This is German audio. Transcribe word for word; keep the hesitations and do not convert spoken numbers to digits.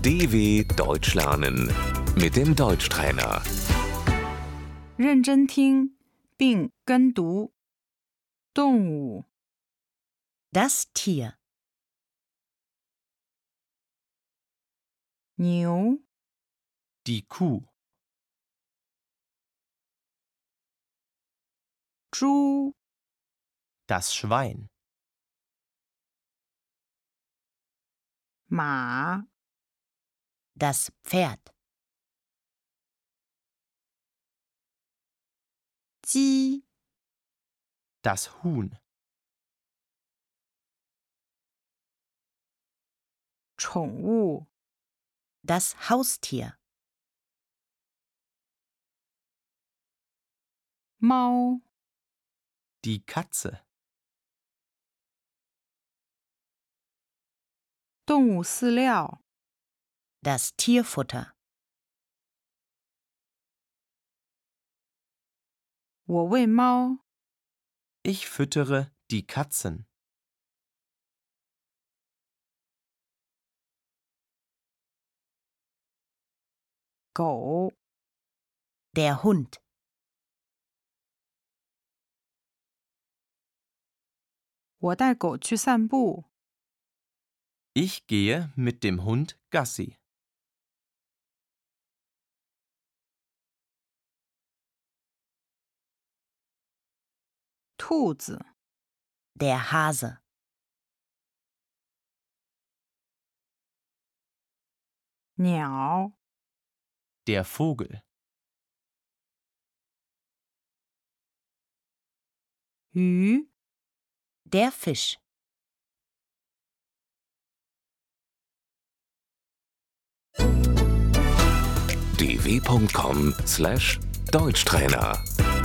D W Deutsch lernen mit dem Deutschtrainer. 认真听并跟读。动物 Das Tier, 牛、 Die Kuh, 猪、 das Schwein, 马、 das Pferd, 鸡、 das Huhn, 宠物 das Haustier, 猫、 die Katze, 动物饲料 das Tierfutter, 我喂猫 ich füttere die Katzen, 狗 der Hund, 我带狗去散步。 ich gehe mit dem Hund Gassi, 兔子 der Hase, 鸟 der Vogel, 鱼 der Fisch. d w punkt com slash Deutschtrainer